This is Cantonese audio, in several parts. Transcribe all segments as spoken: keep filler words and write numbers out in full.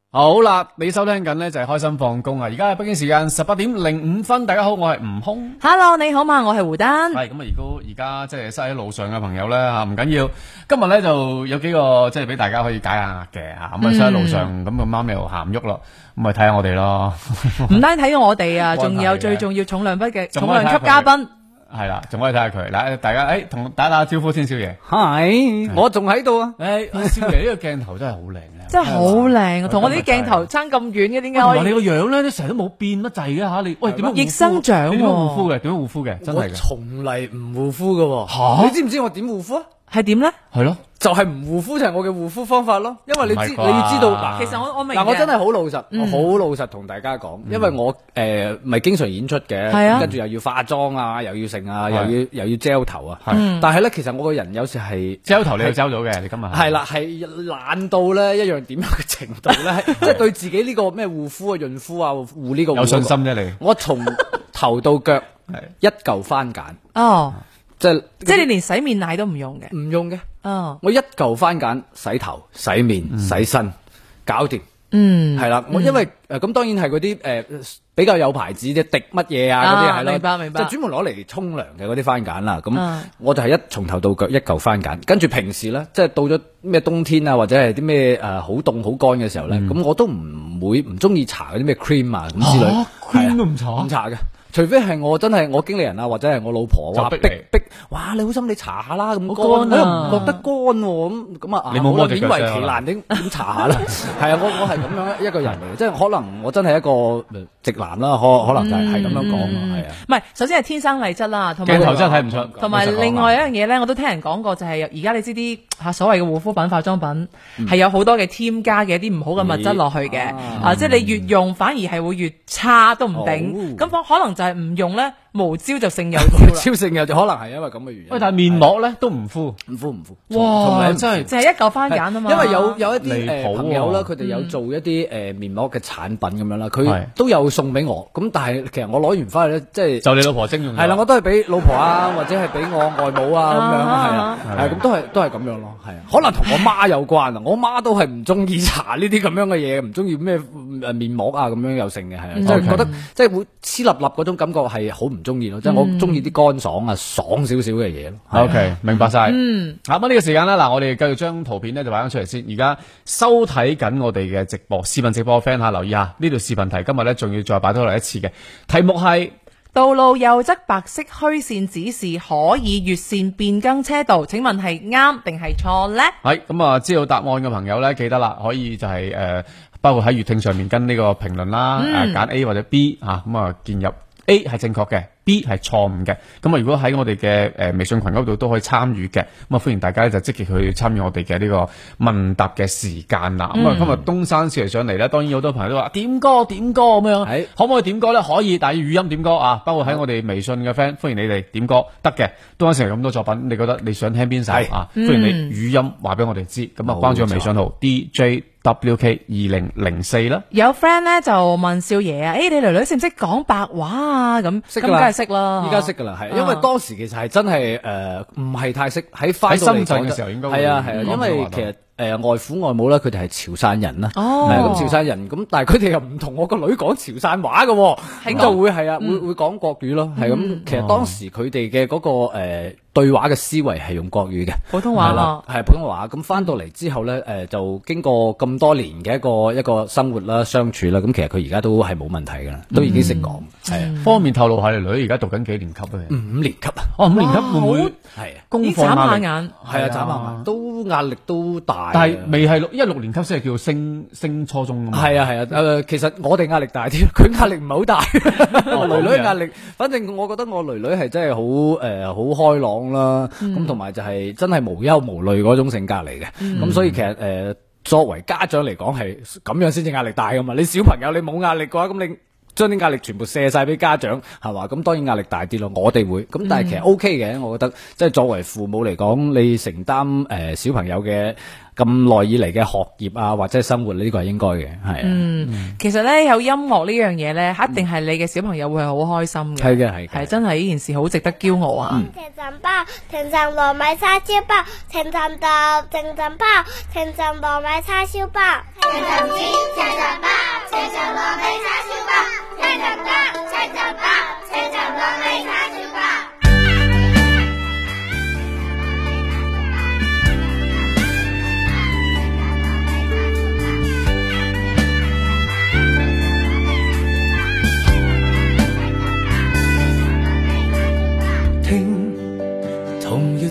好啦，你收聽緊呢就係開心放工啊！而家係北京時間十八點零五分，大家好，我係吳空。 Hello， 你好嘛，我係胡丹。 係咁啊！如果而家即係塞喺路上嘅朋友咧吓，唔緊要。今日咧就有幾個即係俾大家可以解下壓嘅吓，咁啊塞喺路上咁咁啱又行唔喐咯，咁咪睇下我哋咯。唔單睇我哋啊，仲有最重要重量級嘅重量級嘉賓。 係啦，仲可以睇下佢。嗱，大家誒，同打打招呼先，少爺。 係，我仲喺度啊。 誒，少爺呢個鏡頭真係好靚咧， 真係好靚啊！同我哋啲鏡頭差咁遠嘅，點解？ 同埋你個樣咧，都成日都冇變乜滯嘅吓，你喂點樣？ 逆生長， 點樣護膚嘅？點樣護膚嘅？真係嘅。 我從嚟唔護膚嘅。 吓， 你知唔知我點護膚啊？ 係點咧？ 係咯，就係唔護膚就係我嘅護膚方法咯。因為你知你要知道嗱， 其實我我明嗱，我真係好老實，我好老實同大家講，因為我誒咪經常演出嘅，跟住又要化妝啊，又要剩啊，又要又要 gel 頭啊。但係咧，其實我個人有時係 gel 頭你要 gel 到嘅，你今日係啦，係懶到咧一樣點樣嘅程度咧，即係對自己呢個咩護膚啊、潤膚啊、護呢個有信心啫你。 我從頭到腳一嚿番梘哦。 即係即係你連洗面奶都唔用嘅， 唔用嘅。 哦， 我一嚿番梘洗頭、洗面、嗯、洗身，搞掂。 嗯， 係啦。我因為誒咁，當然係嗰啲誒比較有牌子啫，滴乜嘢啊嗰啲係咯。 明白明白。 就專門攞嚟沖涼嘅嗰啲番梘啦。咁、嗯、我就係一從頭到腳一嚿番梘，跟住平時咧，即係到咗咩冬天啊，或者係啲咩誒好凍好乾嘅時候咧，咁、嗯、我都唔會唔中意搽嗰啲咩 cream 啊咁之類。 啊、cream 都唔搽， 唔搽嘅。除非係我真係我經理人啊，或者係我老婆話逼逼，哇！你好心你搽下啦，咁乾啊，唔覺得乾喎，咁咁啊， 你冇摸隻腳勉為其難點點搽下啦？係啊，我我係咁樣一個人嚟嘅，即係可能我真係一個直男啦，可可能就係係咁樣講啊，係啊。 唔係，首先係天生麗質啦，同埋鏡頭真係睇唔出。 同埋另外一樣嘢咧，我都聽人講過，就係而家你知啲嚇所謂嘅護膚品、化妝品係有好多嘅添加嘅一啲唔好嘅物質落去嘅，啊，即係你越用反而係會越差都唔定。咁可能就係唔用咧，無招就勝有招啦。 招勝有就可能係因為咁嘅原因。 喂，但係面膜咧都唔敷， 唔敷唔敷。 哇，真係淨係一嚿番梘啊嘛。 因為有有一啲誒朋友啦，佢哋有做一啲誒面膜嘅產品咁樣啦，佢都有送俾我。咁但係其實我攞完翻去咧，即係就你老婆徵用。 係啦，我都係俾老婆啊，或者係俾我外母啊咁樣，係啊，係咁都係都係咁樣咯，係啊。可能同我媽有關啊，我媽都係唔中意搽呢啲咁樣嘅嘢，唔中意咩誒面膜啊咁樣有剩嘅，係啊，即係覺得即係會黐立立嗰種感覺係好唔中意咯，即係我中意啲乾爽啊爽少少嘅嘢咯。OK， 明白晒。嗯，咁呢個時間啦，嗱，我哋繼續將圖片咧就擺翻出嚟先。而家收睇緊我哋嘅直播視頻直播嘅 friend 吓，留意下呢條視頻題，今日咧仲要再擺多嚟一次嘅題目係道路右側白色虛線指示可以越線變更車道，請問係啱定係錯呢？係咁啊，知道答案嘅朋友咧，記得啦，可以就係、是、誒、呃，包括喺粵聽上面跟呢個評論啦，誒揀、嗯、A 或者 B 啊，咁啊建入 A 係正確嘅。B 係錯誤嘅，咁啊如果喺我哋嘅誒微信群嗰度都可以參與嘅，咁啊歡迎大家咧就積極去參與我哋嘅呢個問答嘅時間啦。咁啊、嗯、今日東山少爺上嚟咧，當然好多朋友都話點歌點歌咁樣，係可唔可以點歌咧？可以，但係要語音點歌啊！包括喺我哋微信嘅 friend，歡迎你哋點歌得嘅。東山少爺咁多作品，你覺得你想聽邊首啊？歡迎你語音話俾我哋知，咁啊關注個微信號 D J W K 二零零四啦。有 friend 咧就問少爺啊，誒、欸、你女女識唔識講白話啊？咁咁梗係識啦，依家識噶啦，係因為當時其實係真係誒唔係太識喺翻到嚟嘅時候應該係啊係啊，因為其實。誒、呃、外父外母咧，佢哋係潮汕人啦，係咁、哦、潮汕人，咁但係佢哋又唔同我個女講潮汕話嘅，咁、嗯、就會係啊，會會講國語咯，係咁、嗯。其實當時佢哋嘅嗰個誒、呃、對話嘅思維係用國語嘅，普通話啦，係普通話。咁翻到嚟之後咧，誒、呃、就經過咁多年嘅一個一個生活啦、相處啦，咁其實佢而家都係冇問題㗎啦，都已經識講。係、嗯、啊，方便透露下你女而家讀緊幾年級咧？五年級啊，哦五年級會唔會係功課壓力？係啊，眨下眼都壓力都大。但係未係六，因為六年級先係叫升升初中㗎嘛。係啊係啊，誒、呃、其實我哋壓力大啲，佢壓力唔係好大。我囡囡壓力，反正我覺得我囡囡係真係好誒好開朗啦，咁同埋就係真係無憂無慮嗰種性格嚟嘅。咁、嗯、所以其實誒、呃、作為家長嚟講係咁樣先至壓力大㗎嘛。你小朋友你冇壓力嘅話，咁你將啲壓力全部射晒俾家長係嘛？咁當然壓力大啲咯。我哋會咁，但係其實 O K 嘅，我覺得即係作為父母嚟講，你承擔誒、呃、小朋友嘅咁耐以嚟嘅學業啊，或者生活呢、呢個係應該嘅，係啊。嗯，嗯其實咧有音樂呢樣嘢咧，一定係你嘅小朋友會係好開心嘅。係嘅，係係真係呢件事好值得驕傲啊！ 甜橙包，甜橙糯米叉燒包，甜橙豆，甜橙包，甜橙糯米叉燒包，甜橙子，甜橙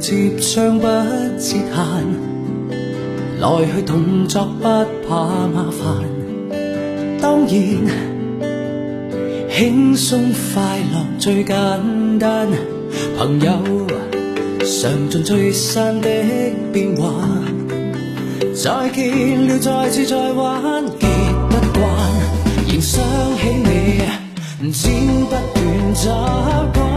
接將不設限，來去動作不怕麻煩。當然輕鬆快樂最簡單，朋友嘗盡最散的變化。再見了再次再玩，結不慣仍想起你，剪不斷習慣。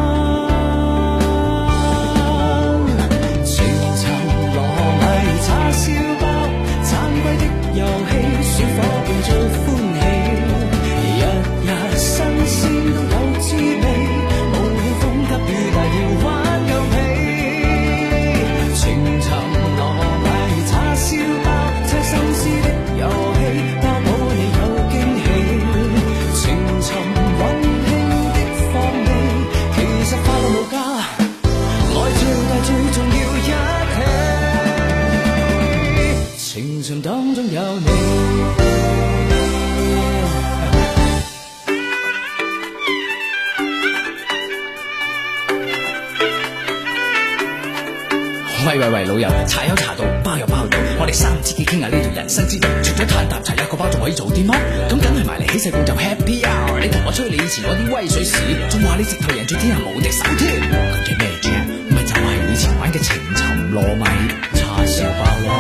情尋糯米叉燒包，盞鬼的遊戲，小伙伴最歡喜，日日新鮮都有滋味，無論風急雨大要玩夠皮。情尋糯米叉燒包，猜心思的遊戲，包保你有驚喜。情尋溫馨的放味，其實快樂無價，愛最大最重要一起。情尋當中有你。喂喂喂，老友，茶有茶道，包有包道，我哋三知己傾下呢條人生之道。除咗嘆啖茶一個包，仲可以做啲乜？咁梗係埋嚟起勢共就 Happy Hour。你同我吹你以前嗰啲威水史，仲話你直頭贏咗天下無敵手添。咁嘅咩啫？咪就係以前玩嘅情尋糯米叉燒包咯。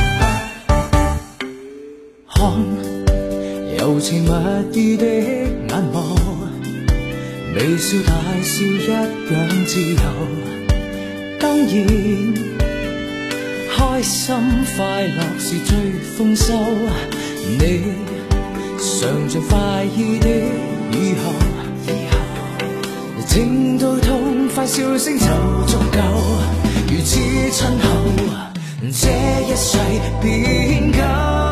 看柔情蜜意的眼眸，微笑大笑一樣自由。當然開心快樂是最豐收，你嘗盡快意的以後，以後聽到痛快笑聲就足夠，如此親厚，這一世便夠。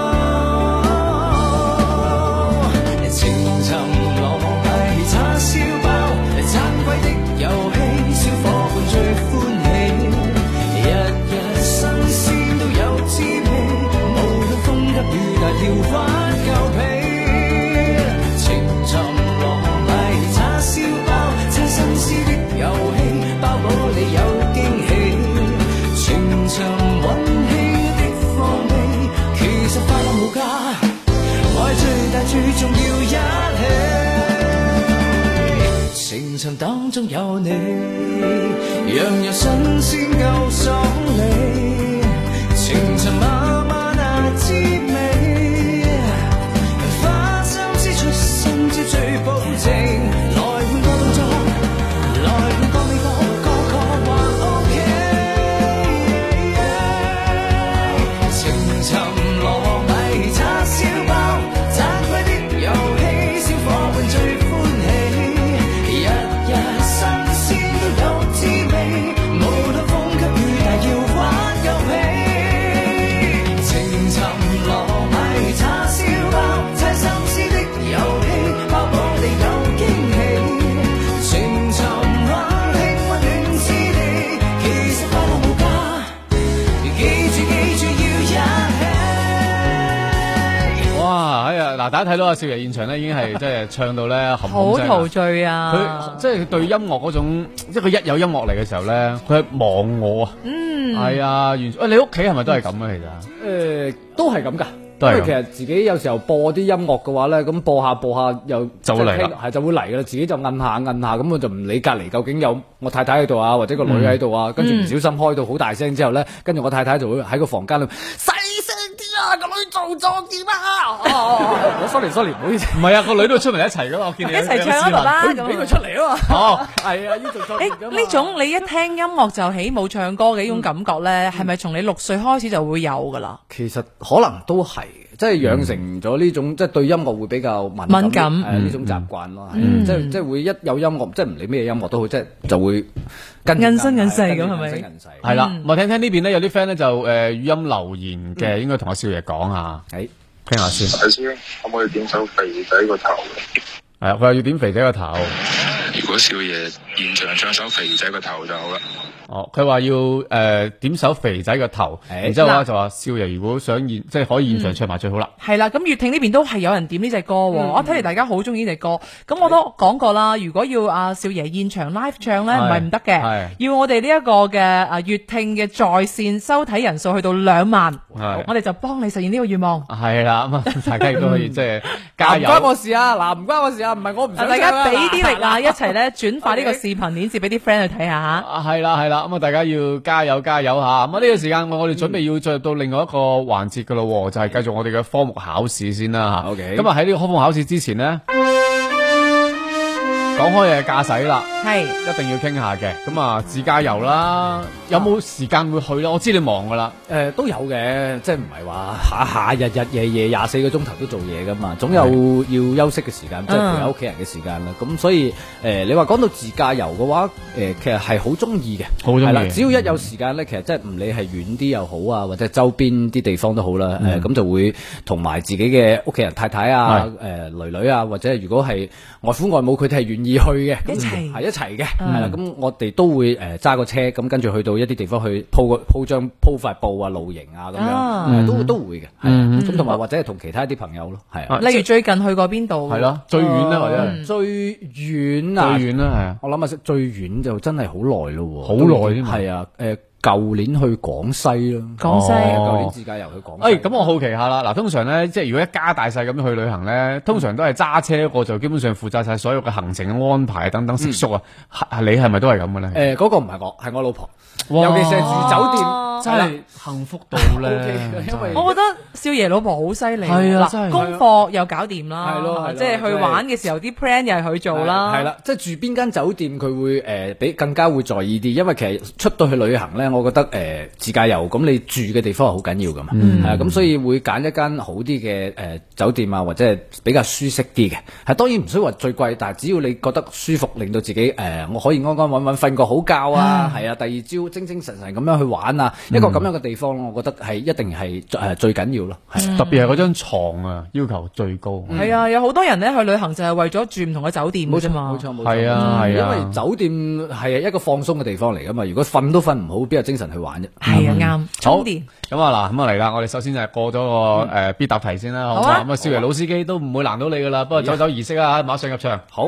情尋糯米叉燒包，盞鬼的遊戲，小伙伴最歡喜。雨大要玩夠皮，情尋糯米叉燒包，猜心思的遊戲，包保你有驚喜。情尋溫馨的放味，其實快樂無價，愛最大最重要一起。情尋當中有你，樣樣新鮮夠爽利，情尋媽媽那滋味。最保證，來換個動作，來換個味道，個個還 OK。情尋糯米叉燒包，盞鬼的遊戲，小伙伴最歡喜，日日新鮮都有滋味，無論風急雨大要玩夠皮。情尋糯米叉燒包，猜心思的遊戲。 嗱，大家睇到阿少爺現場咧，已經係即係唱到咧含好陶醉啊！ 佢即係對音樂嗰種，即係佢一有音樂嚟嘅時候咧，佢係忘我啊！嗯，係啊，完全。喂，你屋企係咪都係咁啊？其實誒，都係咁噶。因為其實自己有時候播啲音樂嘅話咧，咁播下播下又就會嚟啦，係就會嚟噶啦，自己就摁下摁下，咁我就唔理隔離究竟有我太太喺度啊，或者個女喺度啊，跟住唔小心開到好大聲之後咧，跟住我太太就會喺個房間度細聲啲啊，個女做作點啊！我 sorry sorry 唔好意思，唔係啊，個女都出嚟一齊噶嘛，我見你一齊唱啊爸爸，佢唔俾佢出嚟啊嘛。哦，係啊，呢做作。誒呢種你一聽音樂就起舞唱歌嘅呢種感覺咧，係咪從你六歲開始就會有噶啦？其實可能都係。即係養成咗呢種，即係對音樂會比較敏感，敏感誒呢種習慣咯。係即係即係會一有音樂，即係唔理咩音樂都好，即係就會跟印身印世咁係咪？係啦，我聽聽呢邊咧有啲 friend 咧就誒語音留言嘅，應該同阿少爺講下，誒聽下先。係先，可唔可以點首肥仔個頭？係啊，佢話要點肥仔個頭。如果少爺現場唱首肥仔個頭就好啦。 哦，佢話要誒、呃、點首肥仔個頭，欸、然之後咧就話少爺如果想現即係可以現場唱埋最好啦。 係啦、嗯，咁粵聽呢邊都係有人點呢隻歌，嗯、我睇嚟大家好中意呢隻歌。咁我都講過啦，如果要阿少爺現場 live 唱咧，唔係唔得嘅，要我哋呢一個嘅啊粵聽嘅在線收睇人數去到兩萬，我哋就幫你實現呢個願望。 係啦，咁啊大家亦都可以即係加油。 唔關我事啊，嗱唔關我事啊，唔係我唔想唱啊。 大家俾啲力啊，一齊咧轉發呢個視頻鏈接俾啲 friend 去睇下吓。 係啦係啦，咁啊大家要加油加油吓。咁啊呢個時間我我哋準備要進入到另外一個環節噶咯，就係、是、繼續我哋嘅科目考試先啦吓。 OK， 咁啊喺呢個科目考試之前呢，講開嘅駕駛啦，係一定要傾下嘅。咁啊自駕遊啦，有冇時間會去咧？我知你忙噶啦。 誒、呃，都有嘅，即係唔係話下下日日夜夜廿四個鐘頭都做嘢噶嘛，總有要休息嘅時間，即係陪下屋企人嘅時間啦。咁、嗯、所以誒、呃，你話講到自駕遊嘅話，誒、呃，其實係好中意嘅， 好中意。係啦， 只要一有時間咧，其實即係唔理係遠啲又好啊，或者周邊啲地方都好啦。誒、嗯，咁、呃、就會同埋自己嘅屋企人、太太啊、誒、呃、女女啊，或者如果係外父外母，佢哋係願意去嘅， 一齊係一齊嘅，係啦。咁我哋都會誒揸個車，咁跟住去到一啲地方去鋪個鋪張鋪塊布啊、露營啊咁樣，啊、都都會嘅。係咁同埋或者係同其他啲朋友咯，係啊。 例如最近去過邊度？ 係咯，最遠咧或者係最遠啊？ 最遠啦，係啊。 我諗下最遠就真係好耐咯， 好耐添。 係啊，誒。舊年去廣西咯， 廣西， 舊、哦、年自駕遊去廣西。 誒，咁、哎、我好奇下啦，嗱，通常咧，即係如果一家大細咁樣去旅行咧，通常都係揸車，我就基本上負責晒所有嘅行程嘅安排等等食宿啊。係、嗯，你係咪都係咁嘅咧？誒、 呃，嗰、那個唔係我，係我老婆。尤其是係住酒店， 真係幸福到咧。 因為我覺得少爺老婆好犀利， 係啊， 功課又搞掂啦， 係咯， 即係去玩嘅時候啲 plan 又係佢做啦。 係啦，即係住邊間酒店佢會誒比更加會在意啲，因為其實出到去旅行咧，我覺得誒自駕遊咁你住嘅地方係好緊要噶嘛，係啊，咁所以會揀一間好啲嘅誒酒店啊，或者係比較舒適啲嘅。係當然唔需要話最貴，但係只要你覺得舒服，令到自己誒我可以安安穩穩瞓個好覺啊，係啊，第二朝精精神神咁樣去玩啊，一個咁樣嘅地方，我覺得係一定係誒最緊要咯。係特別係嗰張床啊，要求最高。 係啊，有好多人咧去旅行就係為咗住唔同嘅酒店啫嘛。 冇錯冇錯， 係啊係啊， 因為酒店係一個放鬆嘅地方嚟噶嘛。如果瞓都瞓唔好，邊有精神去玩啫？ 係啊，啱。充電。 咁啊嗱，咁啊嚟啦，我哋首先就係過咗個誒必答題先啦，好嘛？咁啊，少爺老司機都唔會難到你噶啦，不過走走儀式啊，馬上入場。 好。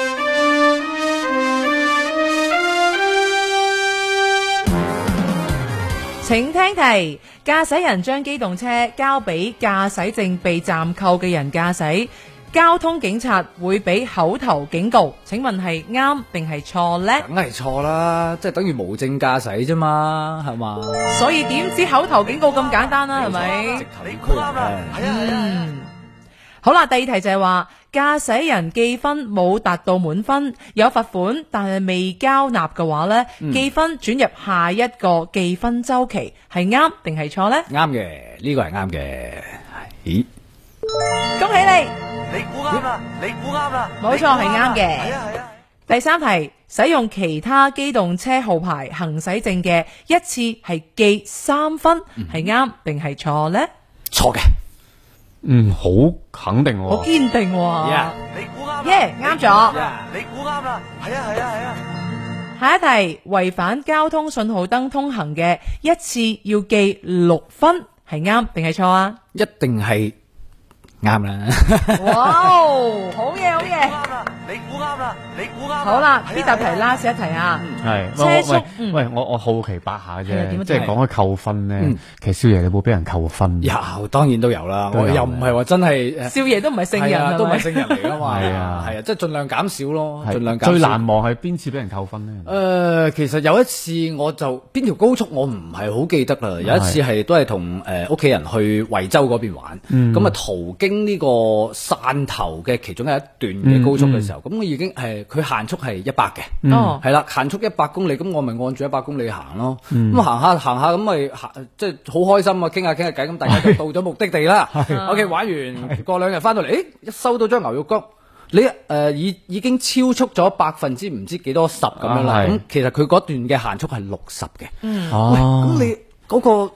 請聽題：駕駛人將機動車交俾駕駛證被暫扣嘅人駕駛，交通警察會俾口頭警告。請問係啱定係錯呢？ 梗係錯啦，即係等於無證駕駛啫嘛，係嘛？ 所以點知口頭警告咁簡單啦？係咪？ 直頭你估啱啦，係啊係啊。 好啦，第二題就係話駕駛人記分冇達到滿分，有罰款，但係未交納嘅話呢，嗯、記分轉入下一個記分周期，係啱定係錯呢？ 啱嘅，呢個係啱嘅。咦？ 恭喜你， 你估啱啦，你估啱啦， 冇錯係啱嘅。 係啊係啊。 第三題，使用其他機動車號牌行駛證嘅一次係記三分，係啱定係錯呢？ 錯嘅。 嗯，好肯定喎， 好堅定喎。 Yeah, 你估啱， 耶，啱咗。 你估啱啦，係啊係啊係啊。 下一題，違反交通信號燈通行嘅一次要記六分，係啱定係錯啊？ 一定係啱啦。 哇，好嘢好嘢。 你估啱啦，你估啱。 好啦，呢答題 last 一題啊。 係車速， 喂，我我好奇八下啫，即係講開扣分咧。其實少爺你冇俾人扣分？ 有，當然都有啦。我又唔係話真係， 少爺都唔係聖人， 都唔係聖人嚟噶嘛。 係啊， 係啊，即係盡量減少咯，盡量減少。 最難忘係邊次俾人扣分咧？ 誒，其實有一次我就邊條高速我唔係好記得啦。有一次係都係同誒屋企人去惠州嗰邊玩，咁啊途經呢個汕頭嘅其中一段嘅高速嘅時候。咁我已經係佢限速係一百嘅，係啦、嗯，限速一百公里，咁我咪按住一百公里行咯。咁、嗯、行下行下咁咪行，即係好開心啊！傾下傾下偈，咁大家就到咗目的地啦。OK， 玩完過兩日翻到嚟，誒，一收到張牛肉乾，你誒、呃、已已經超速咗百分之唔知幾多十咁樣啦。咁、啊、其實佢嗰段嘅限速係六十嘅。嗯，喂，咁你嗰、嗰個。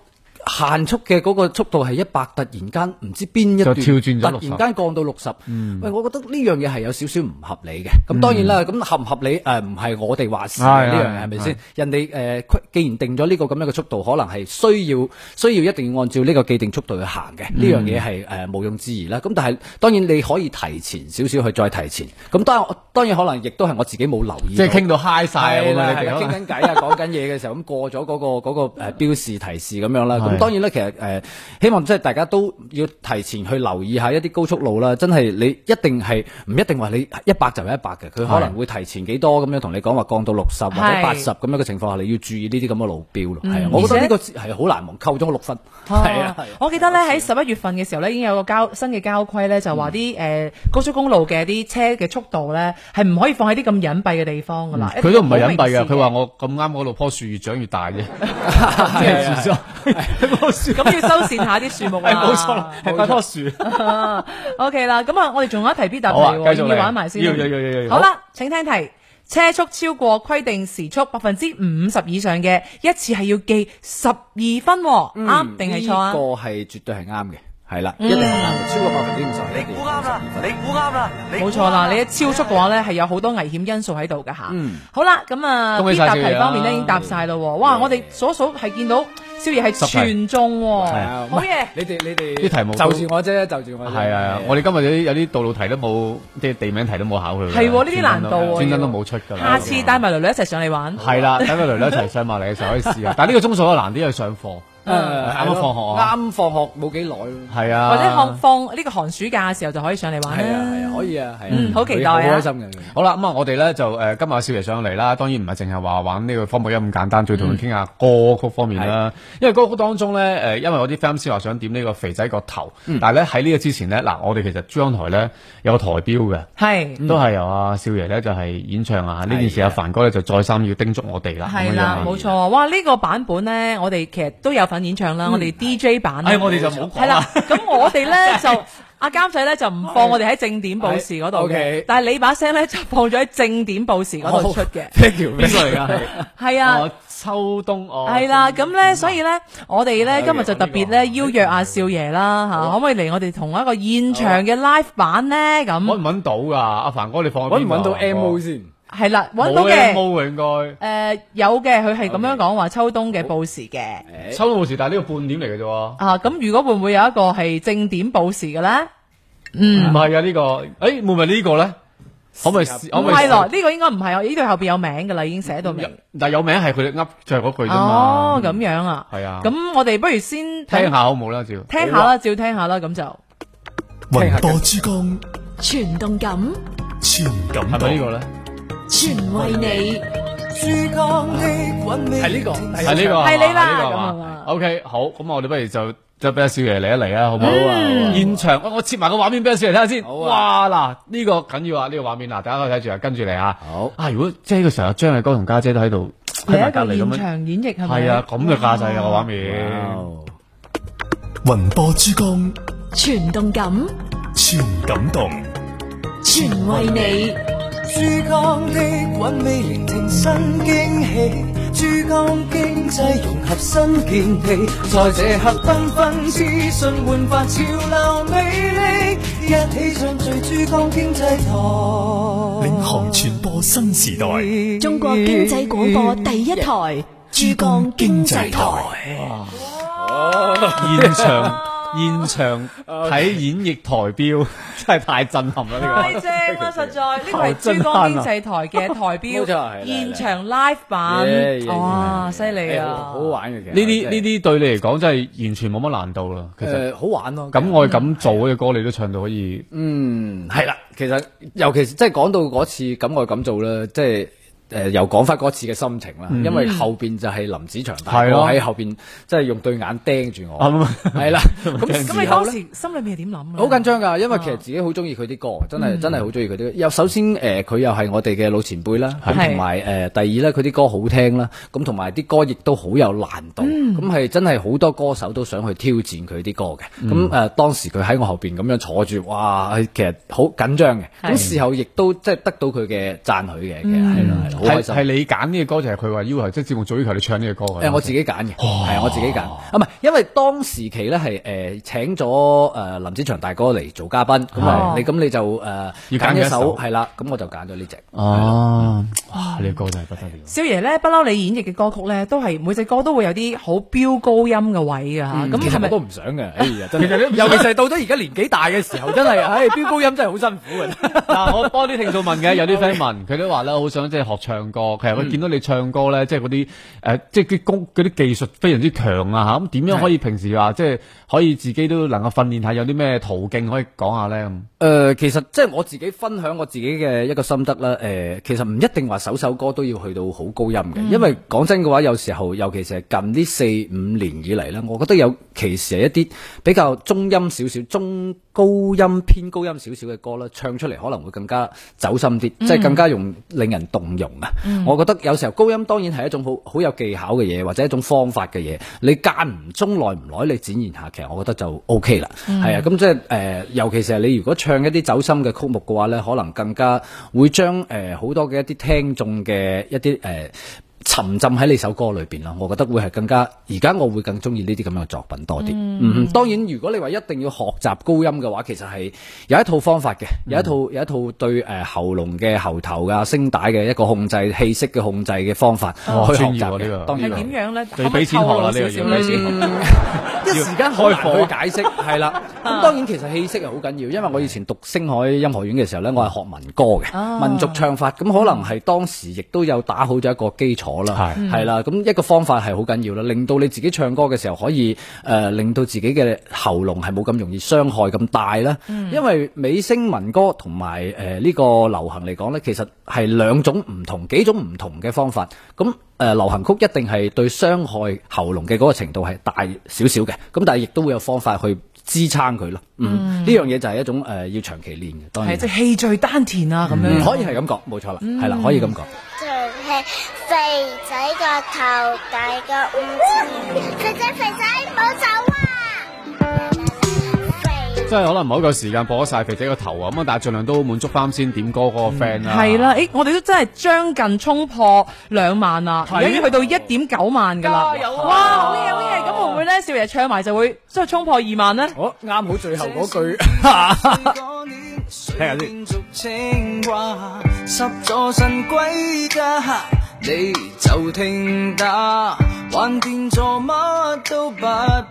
限速嘅嗰個速度係一百，突然間唔知邊一段就跳轉咗突然間降到六十， 嗯， 喂，我覺得呢樣嘢係有少少唔合理嘅。咁當然啦，咁合唔合理誒唔係我哋話事嘅呢樣嘢係咪先？人哋誒既然定咗呢個咁樣嘅速度，可能係需要需要一定要按照呢個既定速度去行嘅，呢樣嘢係誒毋庸置疑啦。咁但係當然你可以提前少少去再提前。咁當然當然可能亦都係我自己冇留意， 即係傾到嗨晒咁樣，係傾緊偈啊，講緊嘢嘅時候咁過咗嗰個嗰個誒標示提示咁樣啦。咁當然咧，其實誒希望即係大家都要提前去留意下一啲高速路啦。真係你一定係唔一定話你一百就係一百嘅，佢可能會提前幾多咁樣同你講話降到六十或者八十咁樣嘅情況下，你要注意呢啲咁嘅路標咯。係啊，我覺得呢個係好難忘，扣咗我六分。係啊， 我記得咧喺十一月份嘅時候咧，已經有個交新嘅交規咧，就話啲誒高速公路嘅啲車嘅速度咧係唔可以放喺啲咁隱蔽嘅地方噶啦。 佢都唔係隱蔽嘅，佢話我咁啱嗰度棵樹越長越大啫。 咁要修繕下啲樹木啊。 冇錯，係嗰棵樹。 O K 啦，咁啊，我哋仲有一題必答題，要玩埋先。 要要要要。 好啦，請聽題。車速超過規定時速百分之五十以上嘅，一次係要記十二分，啱定係錯啊？ 呢個係絕對係啱嘅。係啦，一定係啱嘅，超過百分之五十。 你估啱啦，你估啱啦， 冇錯啦！你一超速嘅話咧，係有好多危險因素喺度噶吓。嗯，好啦，咁啊，必答題方面咧已經答晒咯。哇，我哋數數係見到少爺係全中，係啊，好嘢！ 你哋你哋啲題目就住我啫，就住我。 係啊，我哋今日有啲有啲道路題都冇，即係地名題都冇考佢。 係呢啲難度， 專登都冇出㗎。 下次帶埋囡囡一齊上嚟玩。 係啦，帶埋囡囡一齊上埋嚟嘅時候可以試下。但係呢個鐘數都難啲，去上課。誒，啱啱放學啊！ 啱放學冇幾耐咯。 係啊， 或者放放呢個寒暑假嘅時候就可以上嚟玩啦。 係啊係啊，可以啊，係啊， 嗯，好期待啊， 好開心嘅。 好啦，咁啊，我哋咧就誒今日少爺上嚟啦，當然唔係淨係話玩呢個科目一咁簡單，仲要同佢傾下歌曲方面啦。因為歌曲當中咧，誒，因為我啲 fans 話想點呢個肥仔個頭，但係咧喺呢個之前咧，嗱，我哋其實珠江台咧有個台標嘅， 係都係由阿少爺咧就係演唱啊。呢件事阿凡哥咧就再三要叮囑我哋啦。 係啦，冇錯。哇，呢個版本咧，我哋其實都有份演唱啦，我哋。D J 版咧，我哋就冇講。 係啦，咁我哋咧就阿監仔咧就唔放我哋喺正點報時嗰度嘅，但係你把聲咧就放咗喺正點報時嗰度出嘅。 呢條邊個嚟㗎？ 係啊， 秋冬哦。 係啦，咁咧所以咧，我哋咧今日就特別咧邀約阿少爺啦嚇，可唔可以嚟我哋同一個現場嘅 live 版咧？咁揾唔揾到㗎？阿凡哥，你放揾唔揾到 M O 先？ 係啦，揾到嘅。 冇 M O 應該。 誒有嘅，佢係咁樣講話秋冬嘅報時嘅。 秋冬報時，但係呢個半點嚟嘅啫喎。 啊，咁如果會唔會有一個係正點報時嘅咧？嗯， 唔係啊，呢個，誒會唔會呢個咧？可唔可以？唔係咯，呢個應該唔係，呢度後邊有名㗎啦，已經寫到明。但係有名係佢哋噏就係嗰句啫嘛。 哦，咁樣啊。係啊。咁我哋不如先聽下好冇啦，照。 聽下啦，照聽下啦，咁就。 雲播珠江， 全動感， 全感動。 係咪呢個咧？ 全為你， 珠江的韻味係呢個， 係呢個， 係你啦， 咁啊 OK， 好，咁我哋不如就就俾阿少爺嚟一嚟啊，好唔好啊？現場，我我切埋個畫面俾阿少爺睇下先。哇，嗱，呢個緊要啊，呢個畫面嗱，大家可以睇住啊，跟住嚟啊。 好啊，如果即係呢個時候張藝哥同家姐都喺度， 嚟一個現場演繹係咪？ 係啊，咁嘅架勢啊個畫面。 雲播珠江， 全動感， 全感動， 全為你。 珠江的韻味聆聽新驚喜，珠江經濟融合新見地，在這刻繽紛資訊煥發潮流魅力，一起唱聚珠江經濟台， 領航傳播新時代， 中國經濟廣播第一台，珠江經濟台。 現場現場睇演繹台標真係太震撼啦！呢個太正啦，實在呢個係珠江經濟台嘅台標，現場 live 版，哇，犀利啊！ 好好玩嘅，其實呢啲呢啲對你嚟講真係完全冇乜難度啦。其實好玩咯。 咁我咁做嘅歌，你都唱到可以。 嗯，係啦，其實尤其是即係講到嗰次咁我咁做啦，即係。誒又講翻嗰次嘅心情啦，嗯、因為後邊就係林子祥大哥喺後邊，即係用對眼盯住我，係啦。咁咁你當時心裏面係點諗啊？ 好緊張㗎，因為其實自己好中意佢啲歌，真係、嗯、真係好中意佢啲歌。又首先誒，佢、呃、又係我哋嘅老前輩啦，同埋誒第二咧，佢啲歌好聽啦，咁同埋啲歌亦都好有難度，咁係、嗯、真係好多歌手都想去挑戰佢啲歌嘅。咁誒、嗯呃、當時佢喺我後邊咁樣坐住，哇！其實好緊張嘅。咁事後亦都即係得到佢嘅讚許嘅，其實係咯係咯。 好開心。 係你揀呢個歌，就係佢話要求，即係節目組要求你唱呢個歌嘅。 誒，我自己揀嘅，係啊，我自己揀。啊，唔係，因為當時期咧係誒請咗誒林子祥大哥嚟做嘉賓，咁啊，你咁你就誒要揀一首係啦，咁我就揀咗呢隻。 哦，哇，呢個歌真係不得了。 少爺咧，不嬲你演繹嘅歌曲咧，都係每隻歌都會有啲好飆高音嘅位㗎嚇。咁係咪都唔想嘅？哎呀，真係，尤其是到咗而家年紀大嘅時候，真係，唉，飆高音真係好辛苦嘅。 嗱，我幫啲聽眾問嘅，有啲 friend 問，佢都話咧，好想即係學唱歌。其實佢見到你唱歌咧，即係嗰啲誒，即係啲功嗰啲技術非常之強啊嚇。咁點樣可以平時話即係可以自己都能夠訓練下，有啲咩途徑可以講下咧？咁誒，其實即係我自己分享我自己嘅一個心得啦。誒，其實唔一定話首首歌都要去到好高音嘅，因為講真嘅話，有時候尤其是係近呢四五年以嚟咧，我覺得有其實係一啲比較中音少少、中高音偏高音少少嘅歌啦，唱出嚟可能會更加走心啲，即係更加容令人動容啊！嗯、我覺得有時候高音當然係一種好好有技巧嘅嘢，或者一種方法嘅嘢。你間唔中耐唔耐你展現下，其實我覺得就 O K 啦。係、嗯、啊，咁即係誒，尤其是係你如果唱一啲走心嘅曲目嘅話咧，可能更加會將誒好多嘅一啲聽眾嘅一啲誒。呃沉浸喺你首歌裏邊啦，我覺得會係更加，而家我會更中意呢啲咁樣嘅作品多啲。嗯，嗯，當然如果你話一定要學習高音嘅話，其實係有一套方法嘅，有一套有一套對誒、呃、喉嚨嘅喉頭啊聲帶嘅一個控制氣息嘅控制嘅方法、哦、去學習嘅。呢個當然係點樣咧？ 你俾錢學啦，呢個要俾錢。 一時間開課去解釋係啦。咁當然其實氣息係好緊要，因為我以前讀星海音樂院嘅時候咧，我係學民歌嘅、啊、民族唱法，咁可能係當時亦都有打好咗一個基礎。啦，係啦，咁一個方法係好緊要啦，令到你自己唱歌嘅時候可以誒、呃，令到自己嘅喉嚨係冇咁容易傷害咁大啦。嗯、因為美聲民歌同埋誒呢個流行嚟講咧，其實係兩種唔同、幾種唔同嘅方法。咁誒、呃、流行曲一定係對傷害喉嚨嘅嗰個程度係大少少嘅，咁但係亦都會有方法去支撐佢咯。嗯，呢樣嘢就係一種誒、呃、要長期練嘅。當然係即係氣聚丹田啊，咁樣、嗯、可以係咁講，冇錯啦，係啦、嗯，可以咁講。 係肥仔個頭大過五次，肥仔肥仔唔好走啊！ 即係可能唔好夠時間播晒肥仔個頭啊，咁但係盡量都滿足翻先點歌嗰個 friend 啦。係啦，誒，我哋都真係將近衝破兩萬啦，而家已經去到一點九萬噶啦。加油啊！哇，好嘢好嘢！咁會唔會咧？少爺唱埋就會即係衝破二萬咧？ 哦，啱好最後嗰句。聽下先。十座神歸家，你就聽打，還變做乜都不怕。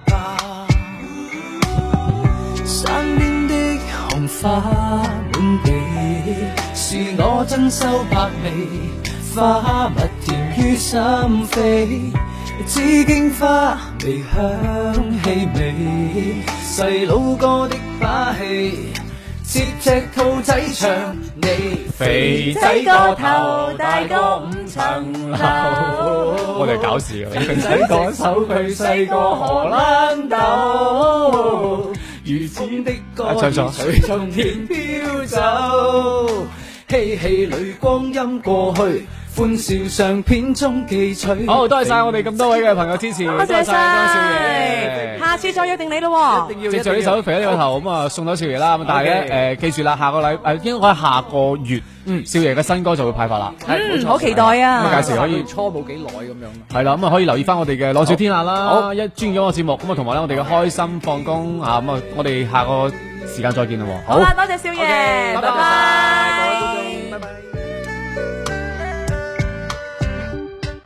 山邊的紅花滿地，是我珍饈百味，花蜜甜於心扉，紫荊花微香氣味，細佬哥的把戲。接隻兔仔唱，你肥仔個頭大過五層樓。 我哋搞事啊！ 肥仔個手佢細過荷蘭豆，如此的歌兒隨從田飄走，嬉戲裏光陰過去。歡笑相片中記取。 好，多謝晒我哋咁多位嘅朋友支持，多謝晒多少爺。 下次再約定你咯， 一定要接住呢首肥仔呢個頭咁啊，送咗少爺啦。咁但係咧誒，記住啦，下個禮誒應該下個月，嗯，少爺嘅新歌就會派發啦。 嗯，好期待啊！ 咁啊，屆時可以初冇幾耐咁樣。 係啦，咁啊可以留意翻我哋嘅朗笑天下啦。好，一專咗個節目咁啊，同埋咧我哋嘅開心放工啊，咁啊，我哋下個時間再見啦。 好啦，多謝少爺，拜拜， 拜拜。